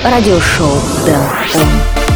радиошоу Дэн Он.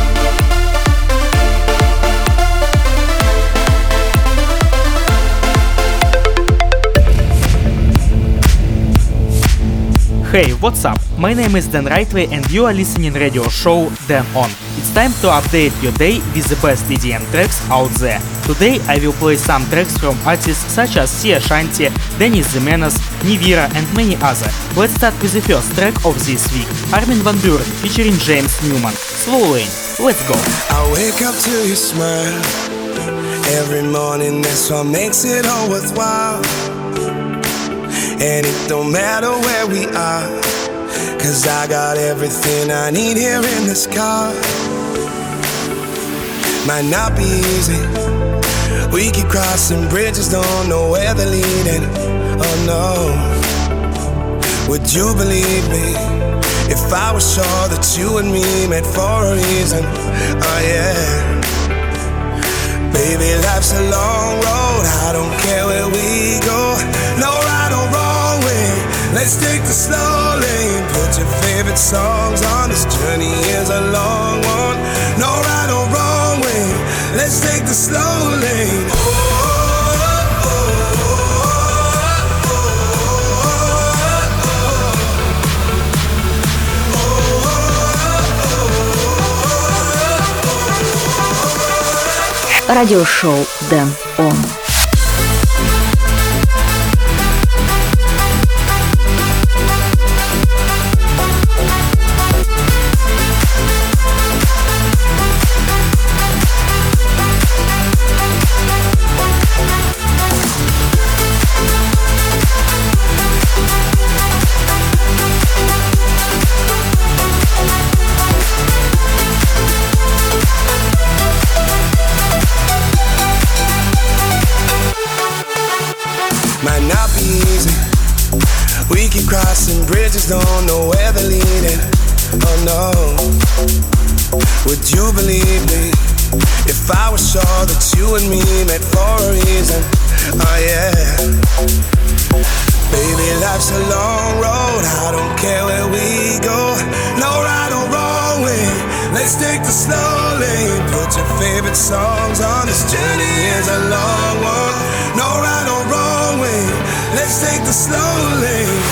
Hey, what's up? My name is Dan Rightway and you are listening radio show Dan On. It's time to update your day with the best EDM tracks out there. Today I will play some tracks from artists such as Sia Shanti, Dennis the Menace, Nivira and many others. Let's start with the first track of this week, Armin van Buuren featuring James Newman, Slow Lane. Let's go. I wake up to your smile every morning, that's what makes it all worthwhile. And it don't matter where we are, 'cause I got everything I need here in this car. Might not be easy, we keep crossing bridges, don't know where they're leading. Oh no, would you believe me if I was sure that you and me met for a reason? Oh yeah. Baby, life's a long road, I don't care where we go. No right or wrong way, let's take the slow lane. Put your favorite songs on, this journey is a long one. No right or wrong way, let's take the slow lane. Радиошоу Дэн Он. Might not be easy, we keep crossing bridges, don't know where they're leading. Oh no, would you believe me if I was sure that you and me met for a reason? Oh yeah. Baby, life's a long road, I don't care where we go. No right or wrong way, let's take the slow lane. Put your favorite songs on, this journey is a long one. No right or wrong way, let's take the slow lane.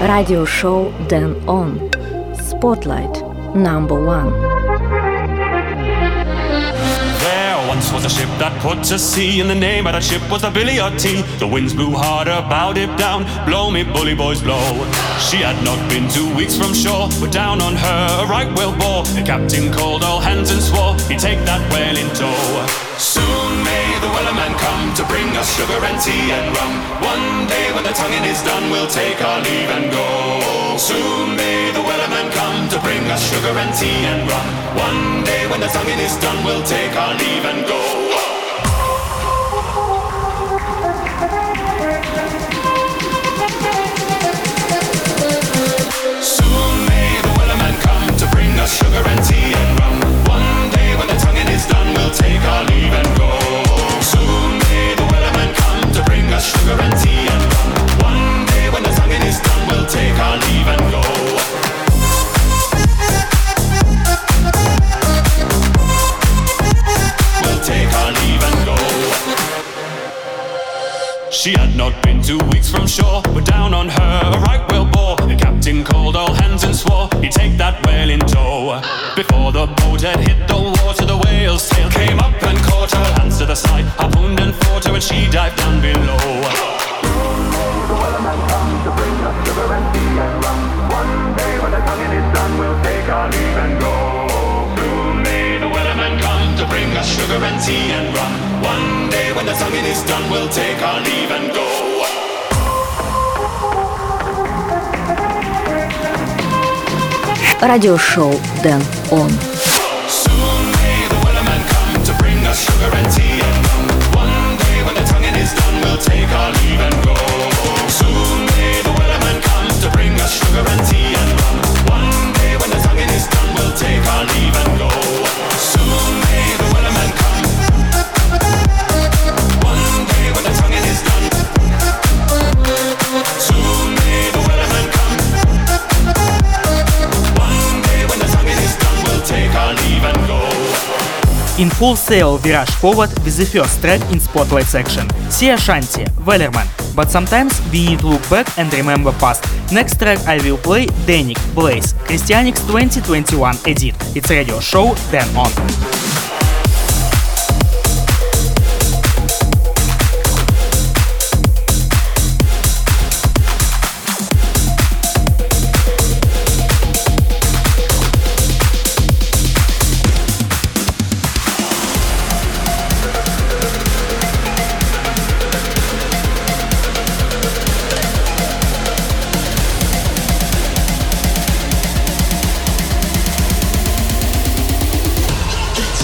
Радиошоу Дэн Он. Spotlight number 1. Once was a ship that put to sea, and the name of that ship was the Billy O.T. The winds blew harder, bowed it down. Blow me, bully boys, blow. She had not been 2 weeks from shore, but down on her a right whale bore. The captain called all hands and swore he'd take that whale in tow. Soon may the wellerman come to bring us sugar and tea and rum. One day when the tonguing is done, we'll take our leave and go. Soon may the wellerman come to bring us sugar and tea and rum. One day when the tonguing is done, we'll take our leave and go. Soon may the wellerman come to bring us sugar and tea and rum. One day when the tonguing is done, we'll take our leave and go. Soon may the wellerman come to bring us sugar and tea and rum. One day when the tonguing is done, we'll take our leave and go. She had not been 2 weeks from shore, but down on her a right whale bore. The captain called all hands and swore he'd take that whale in tow. Before the boat had hit the water, the whale's tail came up and caught her. Hands to the side, harpooned and fought her, and she dived down below. The wellerman come to bring us sugar and tea and rum. One day when the tonguing is done, we'll take our leave and go. Soon may the wellerman come to bring us sugar and tea and rum. One day when the tonguing is done, we'll take our leave and go. Радиошоу Дэн Он. Soon may the wellerman come to bring us sugar and tea and rum. One day when the tonguing is done, we'll take our leave and go. Soon may the wellerman come to bring us sugar and tea and rum. One day when the tonguing is done, we'll take our leave and go. Soon may the wellerman come. One day when the tonguing is done. Soon may the wellerman come. One day when the tonguing is done, we'll take our leave and go. In full sail we rush forward with the first track in Spotlight section. Sea Shanty, Wellerman. But sometimes we need to look back and remember past. Next track I will play Danik, Blaze, Christianix 2021 edit. It's radio show Dэн On. It's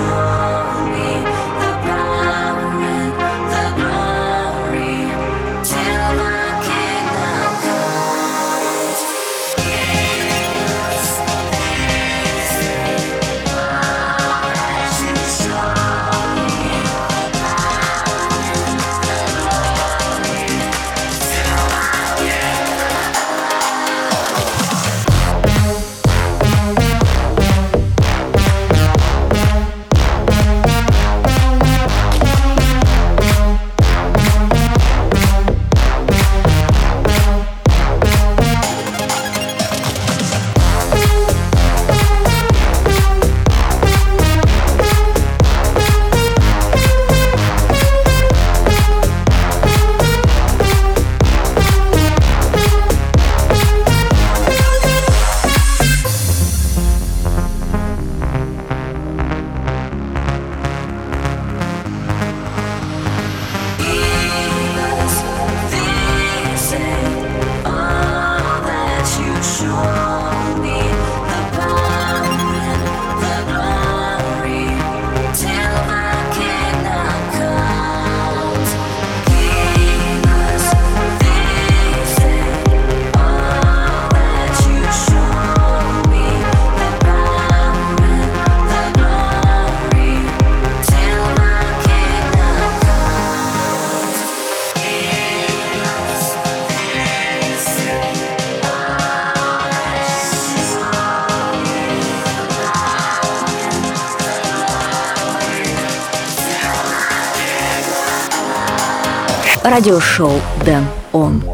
Радиошоу Дэн Он.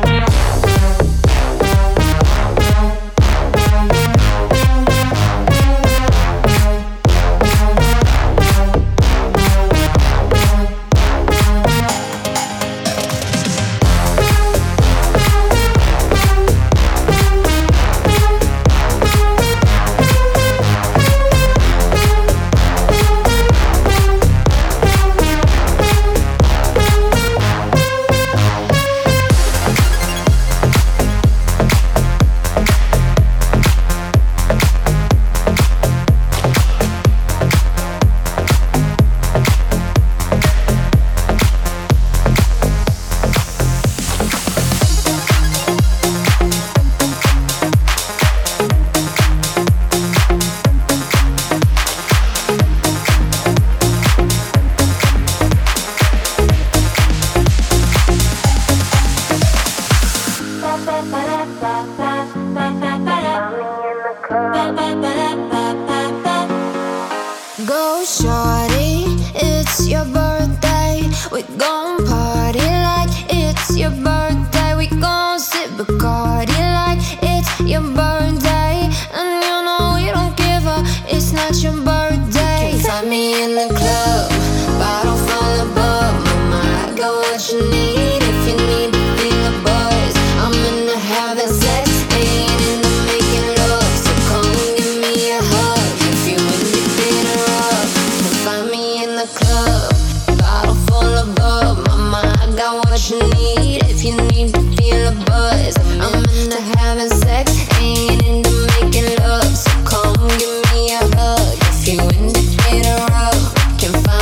Go shorty, it's your birthday. We gon' party like it's your birthday. We gon' sip Bacardi like it's your birthday. And you know we don't give a, it's not your birthday. Can't find me in the club, bottle full of bub. Mama, I got what you need if you need to feel a buzz. I'm into having sex, ain't into making love. So come give me a hug if you into getting rough. Can't find me in the club, bottle full of bub. Mama, I got what you need if you need to feel a buzz. I'm into having sex, ain't into making love. So come give me a hug if you into getting rough. Can't find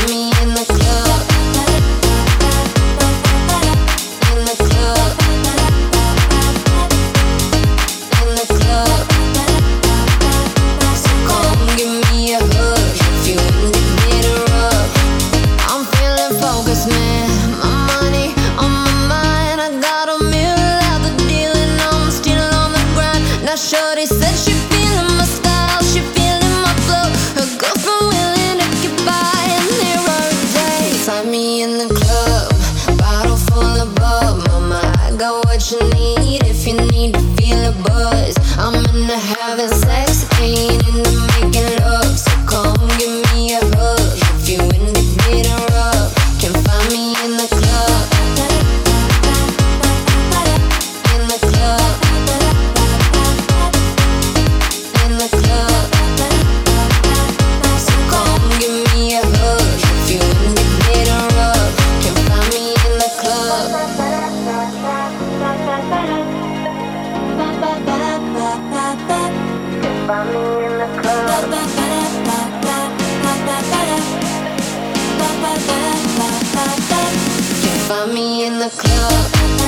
find me in the club.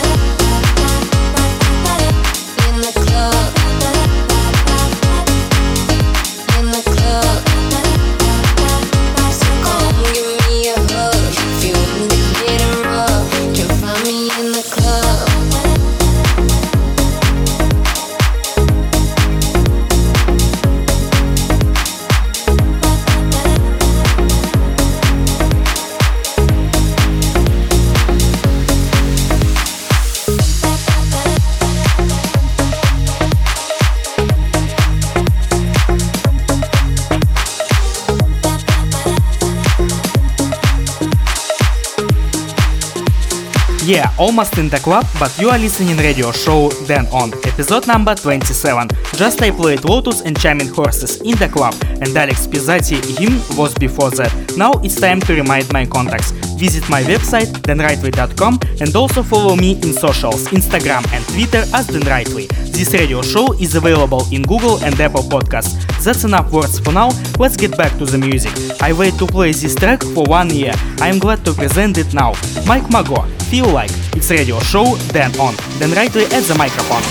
In the club. In the club. So come give me a hug. If you want me to get it rough, you can find me in the club. Yeah, almost in the club, but you are listening radio show Dan On, episode number 27. Just I played Lotus and Charming Horses in the club, and Alex Pizzati hymn was before that. Now it's time to remind my contacts. Visit my website danrightway.com and also follow me in socials, Instagram and Twitter as Dan Rightway. This radio show is available in Google and Apple Podcasts. That's enough words for now, let's get back to the music. I wait to play this track for 1 year. I am glad to present it now. Mike Mago, Feel Like. It's radio show Dan On. Dan Rightway at the microphone.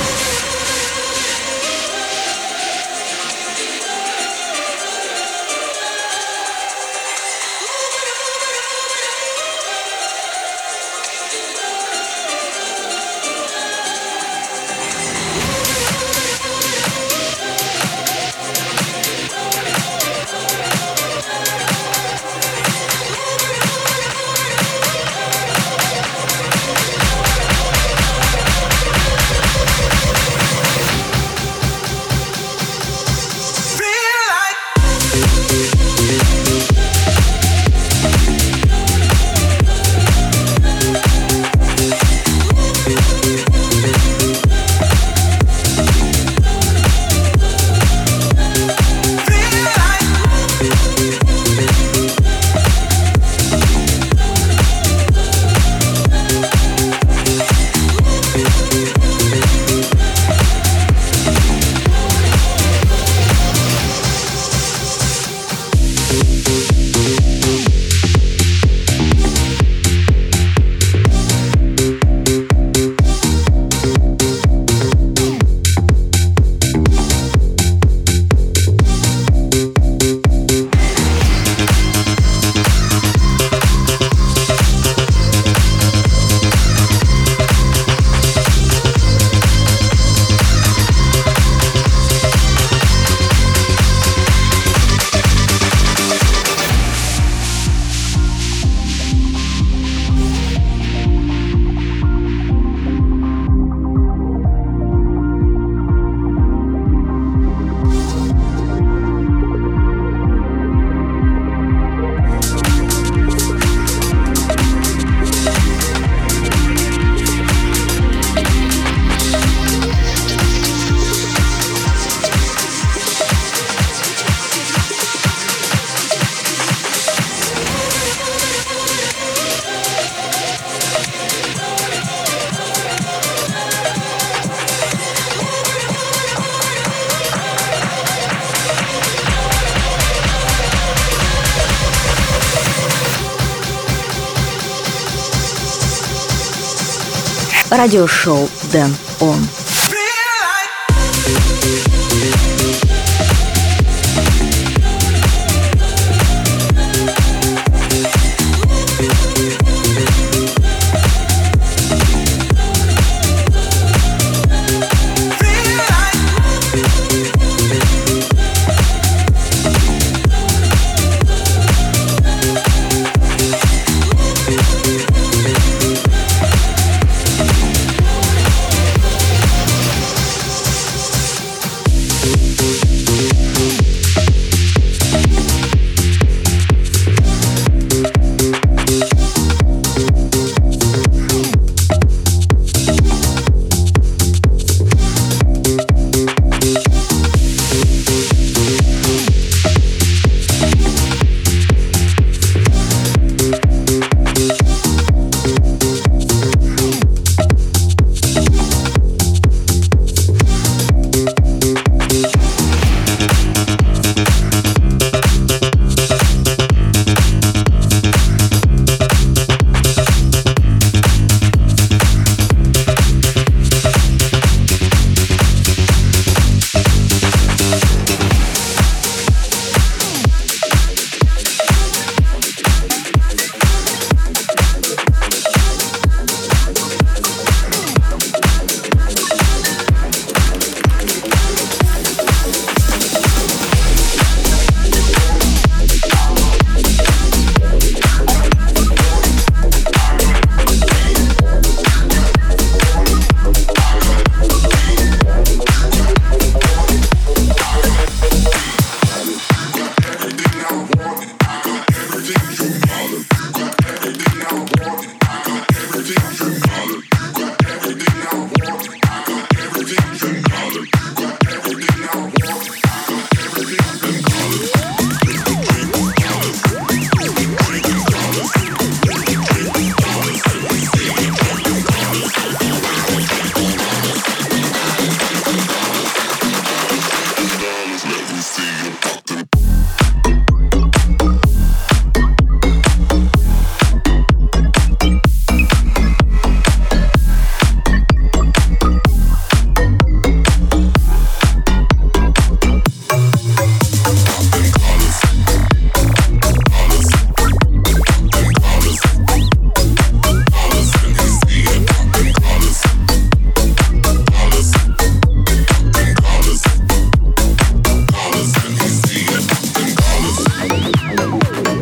Радиошоу Dan On.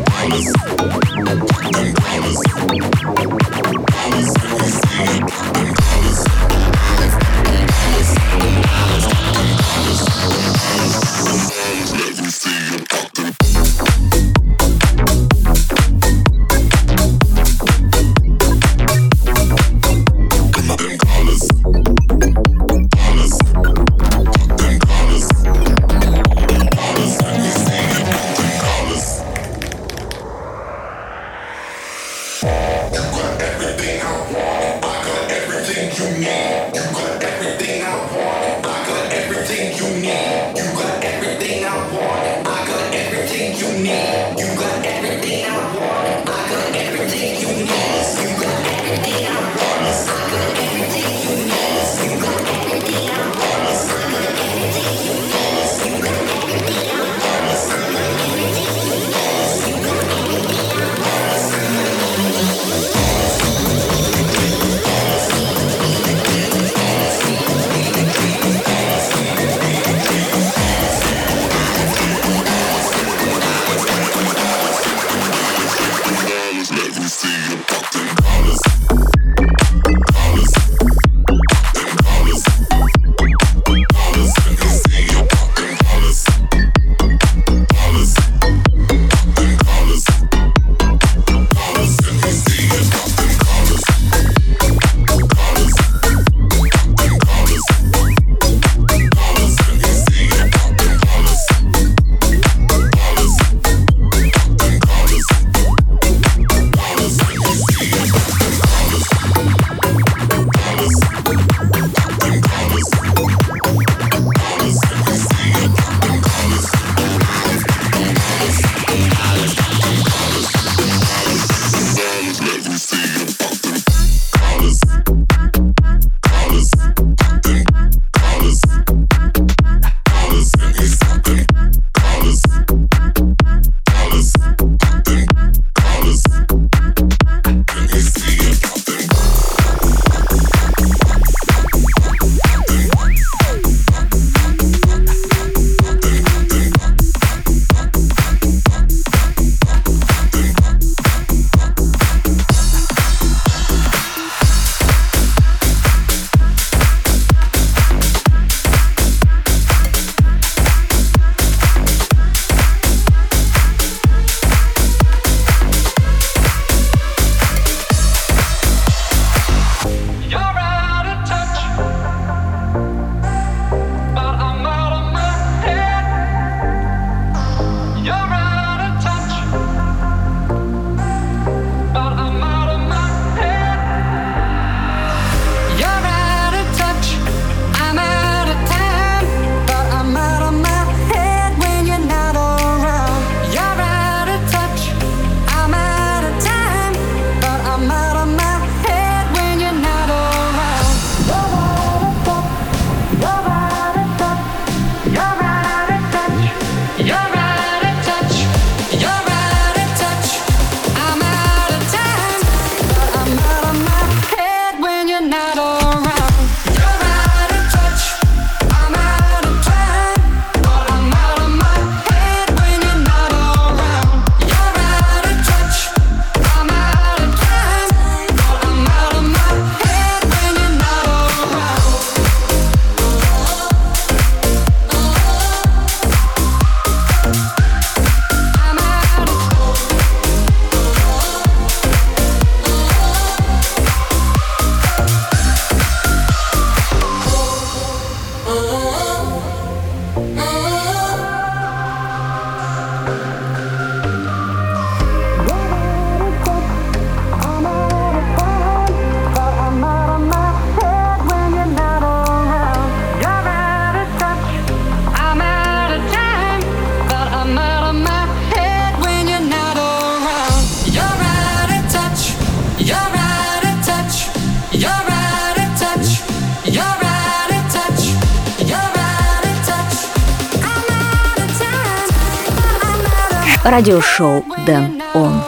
Радиошоу Дэн Он.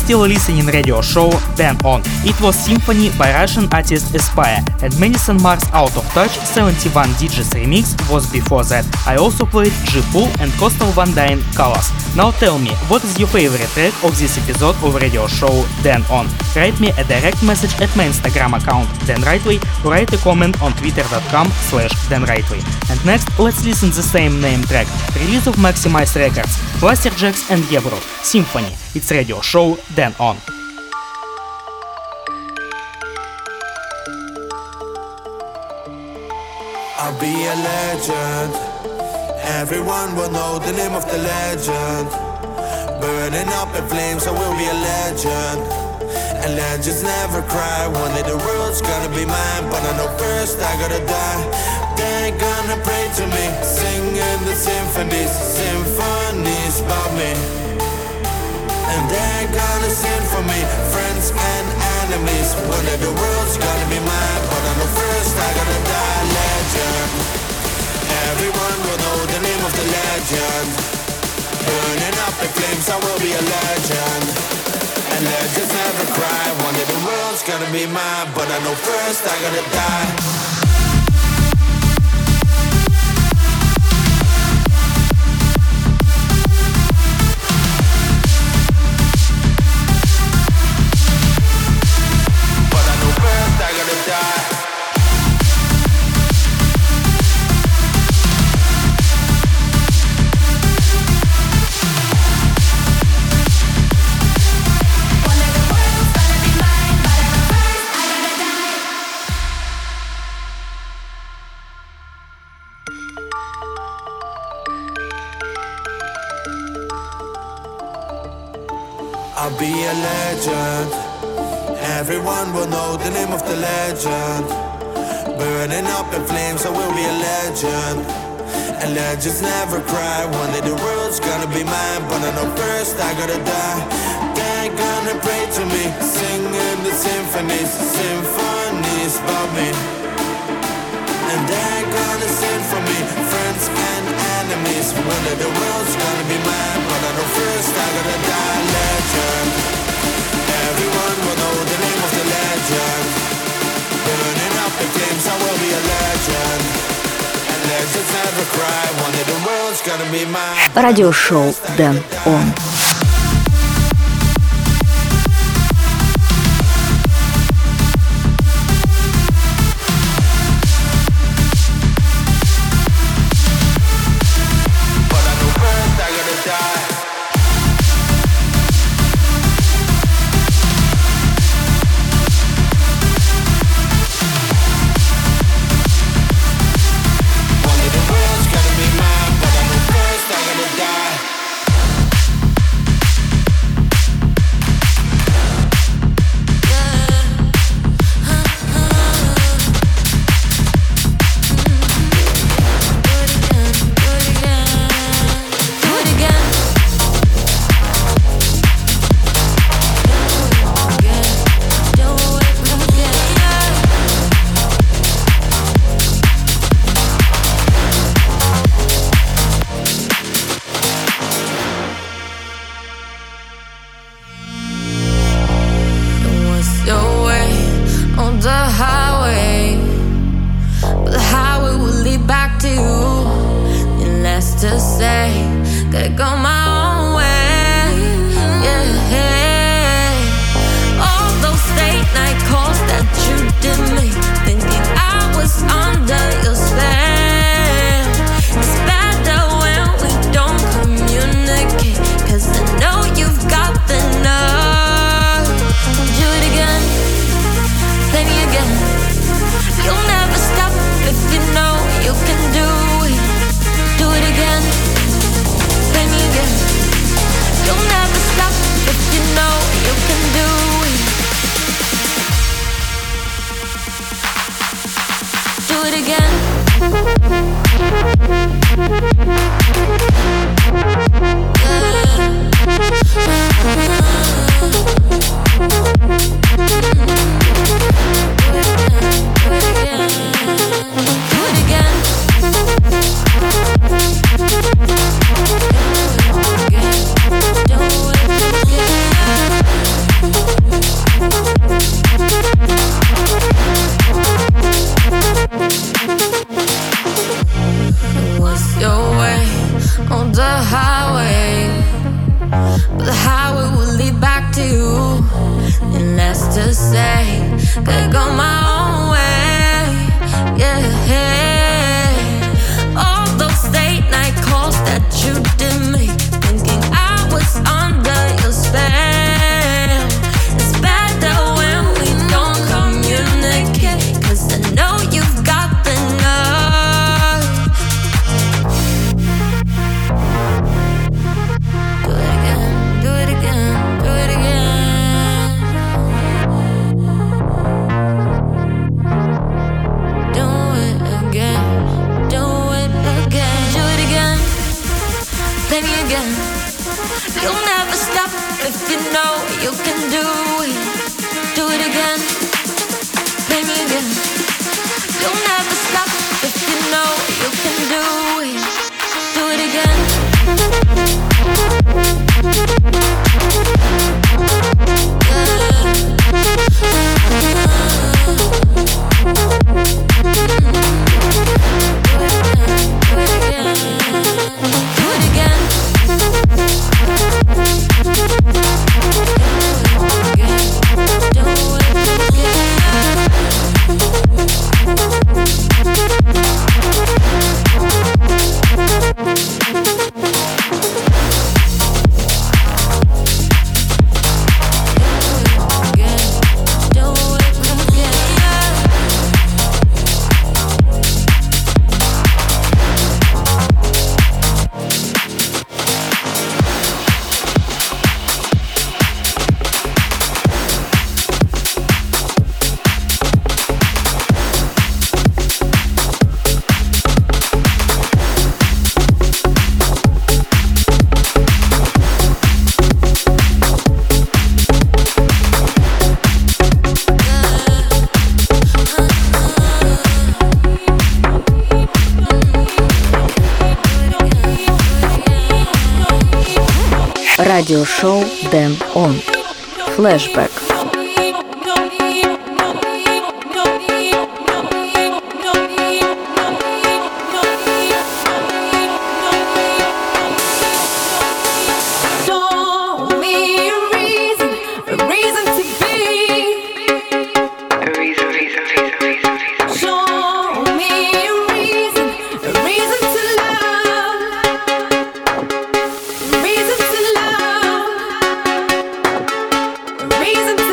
still listening radio show Dan On. It was Symphony by Russian artist Aspire, and Madison Mars Out of Touch 71 DJs remix was before that. I also played G-Pool and Coastal Van Dyne Colors. Now tell me, what is your favorite track of this episode of radio show Dan On? Write me a direct message at my Instagram account Dan Rightway or write a comment on twitter.com/DanRightway. And next, let's listen the same name track, release of Maximize Records, Blasterjaxx and Yebro, Symphony. It's radio show Dan On. I'll be a legend. Everyone will know the name of the legend. Burning up in flames, I will be a legend. And legends never cry. One day the world's gonna be mine, but I know first I gotta die. They're gonna pray to me, singing the symphonies about me. And they're gonna sing for me, friends and enemies. One day the world's gonna be mine, but I know first I gotta die. Legend. Everyone will know the name of the legend. Burning up in flames, I will be a legend. And legends never cry. One day the world's gonna be mine, but I know first I gotta die. I'll be a legend. Everyone will know the name of the legend. Burning up in flames, I will be a legend. And legends never cry. One day the world's gonna be mine, but I know first I gotta die. They're gonna pray to me, singing the symphonies about me. And they're gonna sing for me, friends and enemies. One day the world's gonna be mine, but I know first I gotta die. Legend. Everyone will know the name of the legend. Burning up in flames, I will be a legend. And legends never cry. One day the world's gonna be mine. Радиошоу Dan On. could go my own way. Yeah. All those late night calls that you did make, thinking I was under your spell. It's better when we don't communicate, 'cause I know you've got the nerve. Do it again, do it again, do it again. Do it again, do it again, do it again. Play me again. You'll never stop if you know you can do it. Do it again. Play me again. You'll never stop if you know you can do it. Do it again. Радиошоу Дэн Он. Флэшбэк. Reason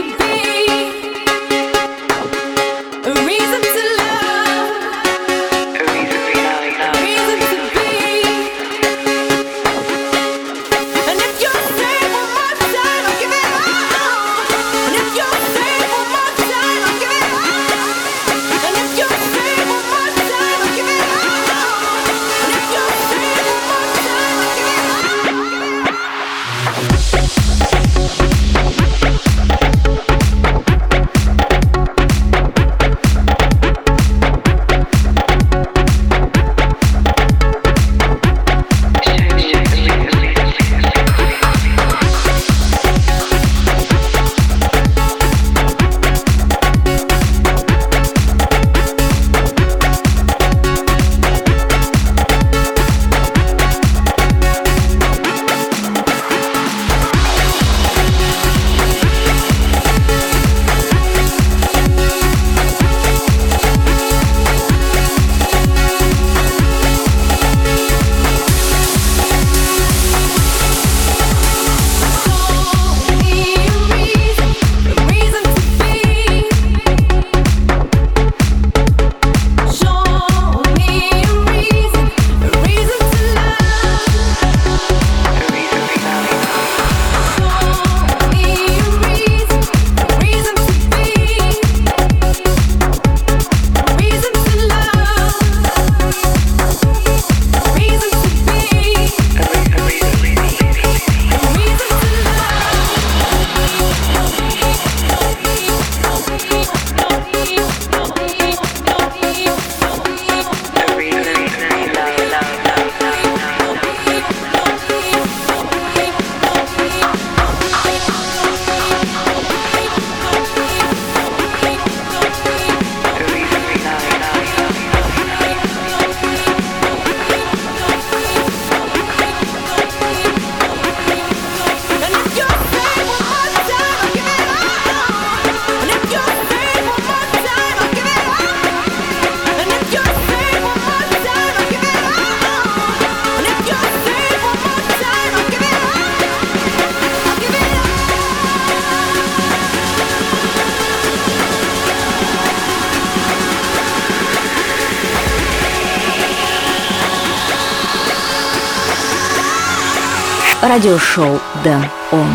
Радиошоу Дэн Он.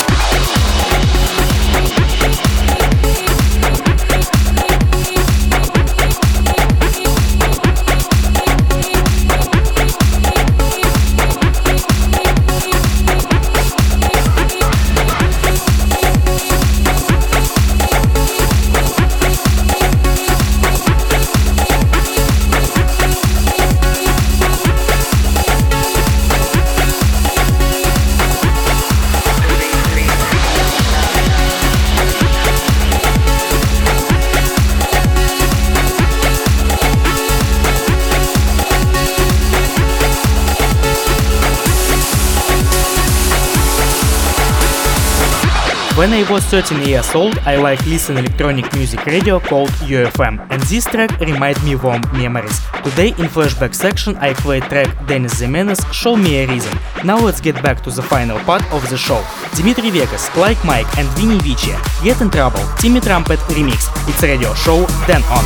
When I was 13 years old, I like listen electronic music radio called UFM, and this track remind me warm memories. Today in flashback section I play track Dennis Zimenez Show Me a Reason. Now let's get back to the final part of the show. Dimitri Vegas, Like Mike and Vinny Vici, Get in Trouble, Timmy Trumpet remix. It's radio show Dan On.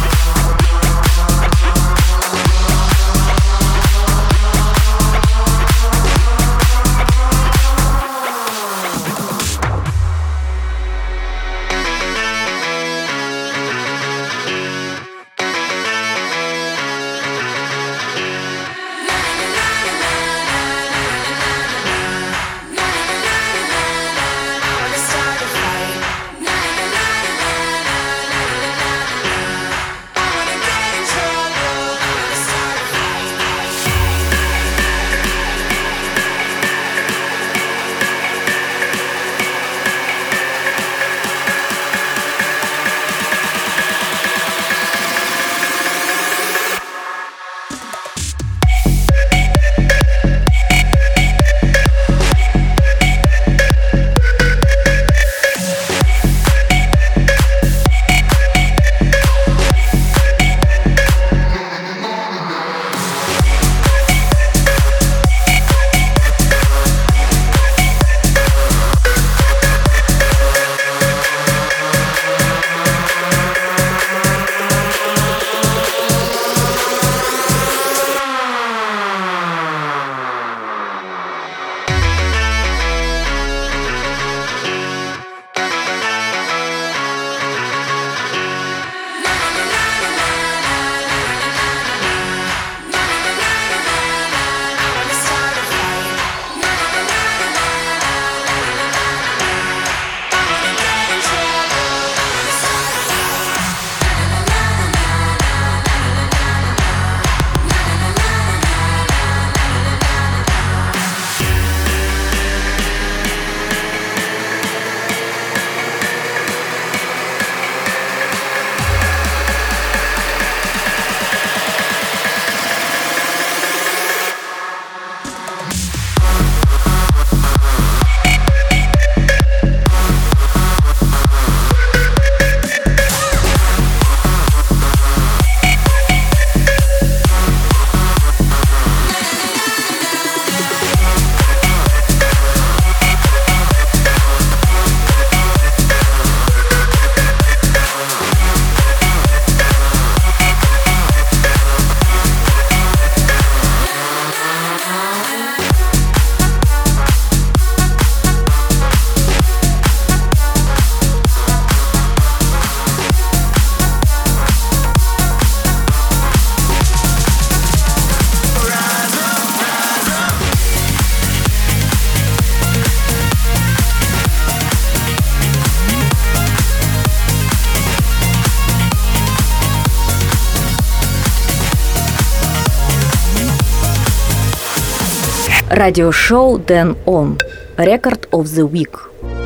Радиошоу Dan On. Record of the Week.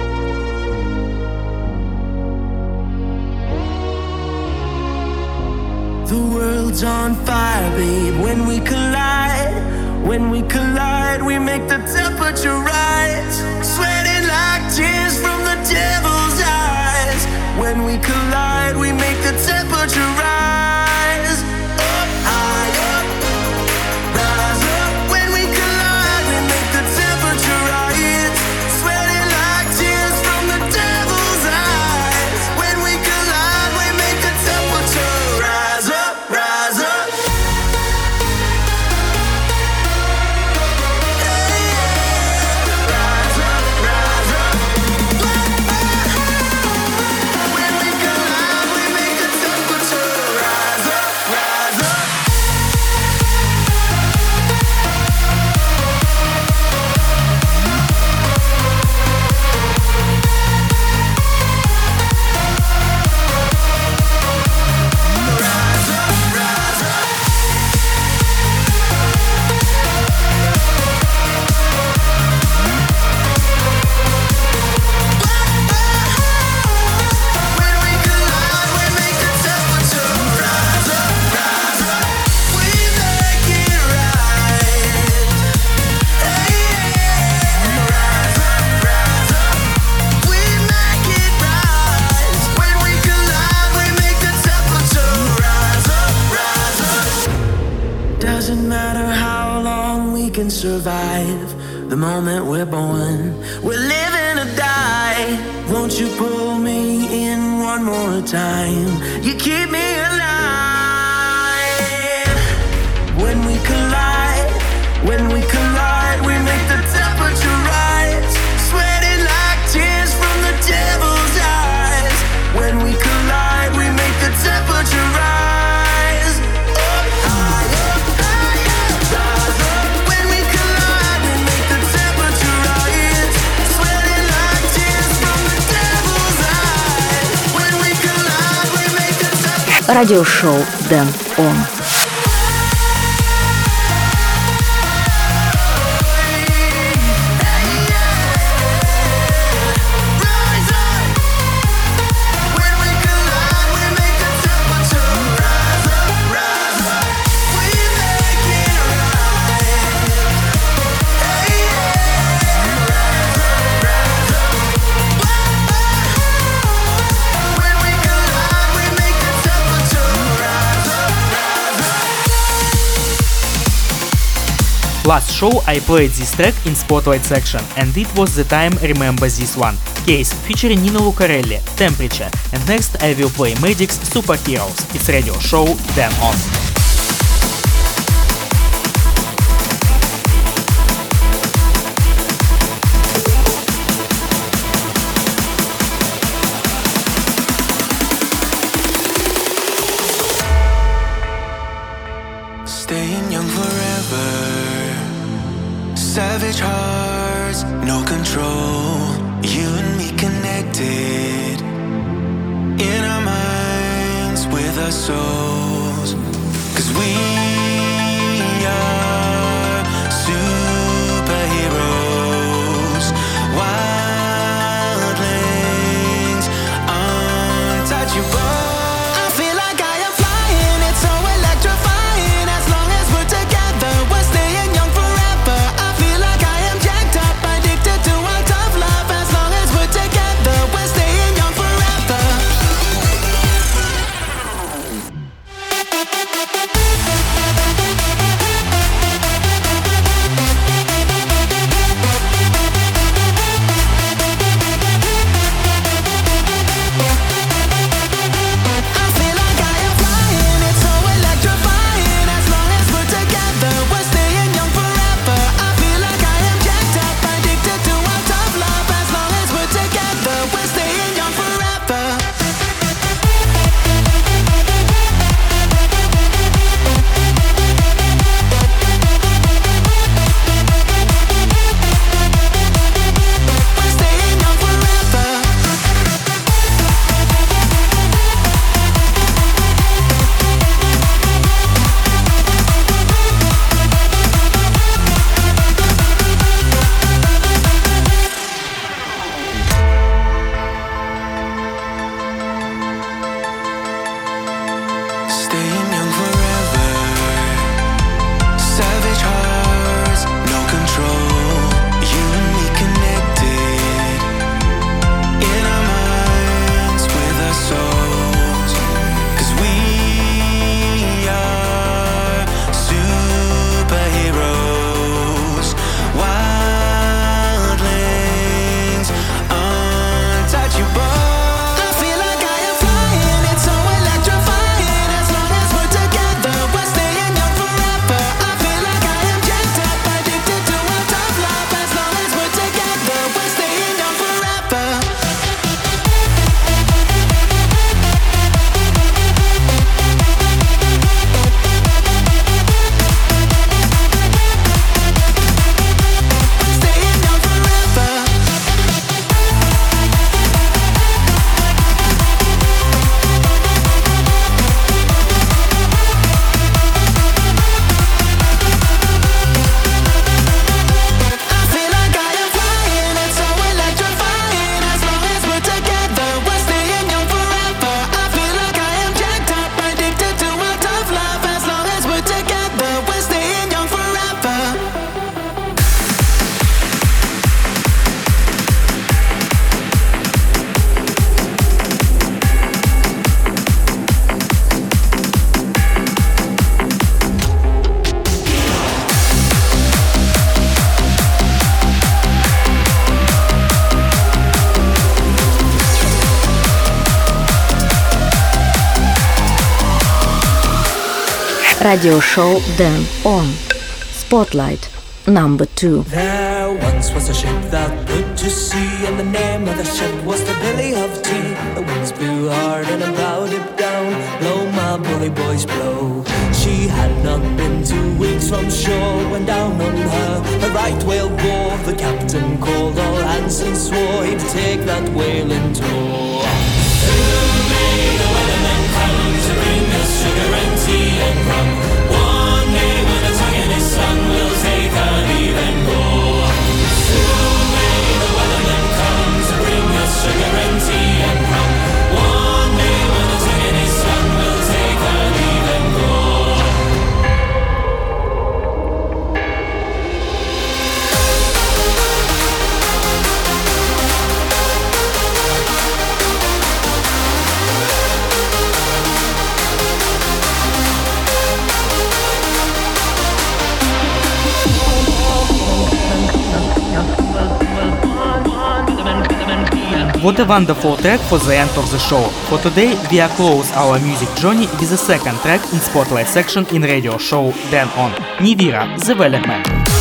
The world's on fire, babe, when we collide. When we collide, we make the temperature rise. Sweating like tears from the devil's eyes. When we collide, we make the temperature rise. Up high, up, rise up. When we collide, we make the temperature rise. Sweating like tears from the devil's eyes. When we collide, we make the temperature rise up, rise up. Yeah, yeah. Doesn't matter how long we can survive. The moment we're born, we're living or die. Won't you pull me in one more time? You keep me alive. When we collide, we make the temperature rise. Sweating like tears from the devil's eyes. When we collide, we make the temperature rise. Up high, up high, up, rise up. When we collide, we make the temperature rise. Sweating like tears from the devil's eyes. When we collide, we make the temperature. Радиошоу Дэн Он. Last show I played this track in Spotlight section, and it was the time Remember This One. Case featuring Nino Lucarelli, Temperature, and next I will play Medic's Superheroes. It's radio show Dэн On. Staying young forever. Savage hearts, no control. You and me connected. In our minds, with our souls. 'Cause we are superheroes. Wildlings, untouchable. Radio show Dan On. Spotlight number 2. There once was a ship that put to sea, and the name of the ship was the Billy of Tea. The winds blew hard and about it down. Blow, my bully boys, blow. She had not been 2 weeks from shore when down on her a right whale bore. The captain called all hands and swore he'd take that whale in tow. Soon may the weathermen come to bring us sugar and tea and rum. One day when a tongue in his son will take a leave and go. Soon may the weathermen come to bring us sugar and tea and rum. One day when a tongue in his son will take a leave and go. What a wonderful track for the end of the show. For today, we are close our music journey with the second track in Spotlight section in radio show Dan On. Nivira, The Wellerman.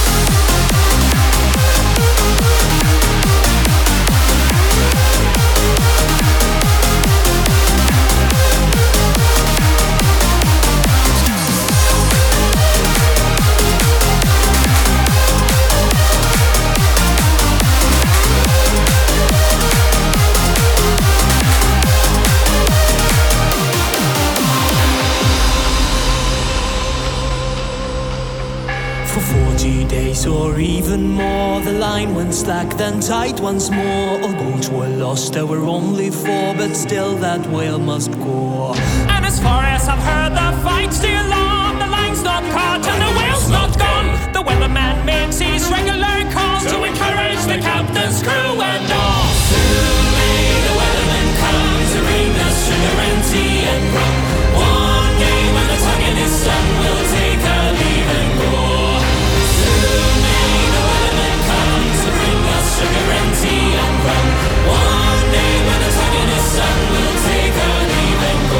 For 40 days or even more, the line went slack, then tight once more. All boats were lost, there were only 4, but still that whale must go. And as far as I've heard, the fight's still on. The line's not caught and the whale's not gone. The weatherman makes his regular calls to encourage the captain's crew and all. Soon may the weatherman come to bring us sugar and tea and rum. One day when the tongue in his son will take a leave and go. Soon may the weatherman come to bring us sugar and tea and rum. One day when the tongue in his son will take a leave and go.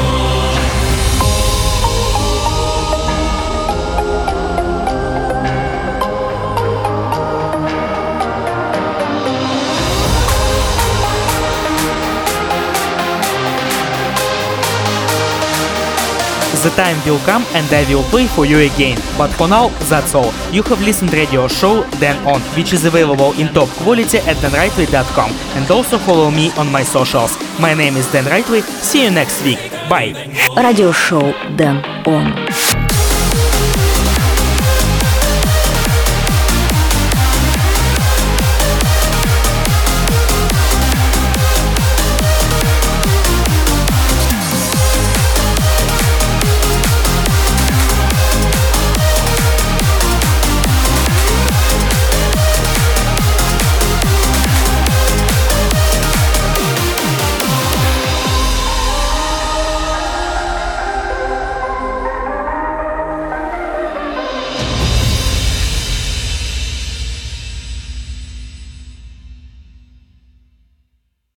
The time will come and I will play for you again. But for now, that's all. You have listened radio show Dan On, which is available in top quality at danrightway.com, and also follow me on my socials. My name is Dan Rightway. See you next week. Bye. Radio show Dan On.